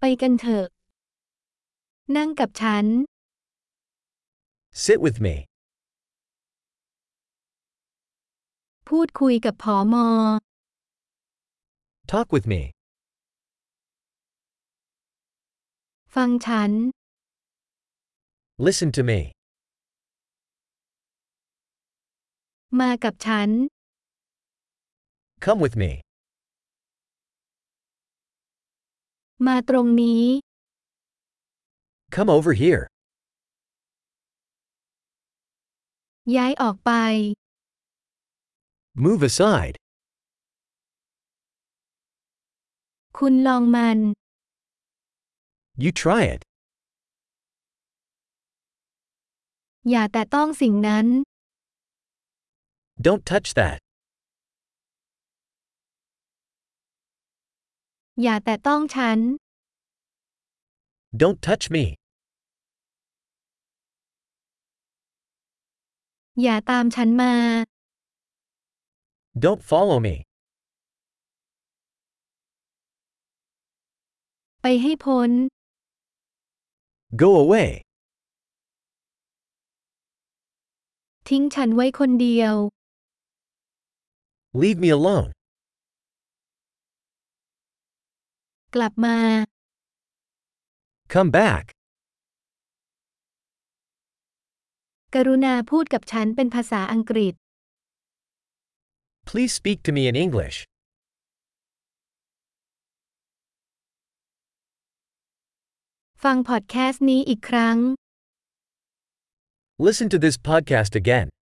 กันเถอะนั่งกับฉัน Sit with me. พูดคุยกับผม. Talk with me. ฟังฉัน Listen to me. มากับฉัน Come with me. มาตรงนี้ Come over here. ย้ายออกไป Move aside. คุณลองมัน You try it. อย่าแตะต้องสิ่งนั้น Don't touch that. อย่าแตะต้องฉัน Don't touch me. อย่าตามฉันมา Don't follow me. ไปให้พ้น Go away. ทิ้งฉันไว้คนเดียว Leave me alone. กลับมา Come back. กรุณาพูดกับฉันเป็นภาษาอังกฤษ Please speak to me in English. ฟังพอดแคสต์นี้อีกครั้ง Listen to this podcast again.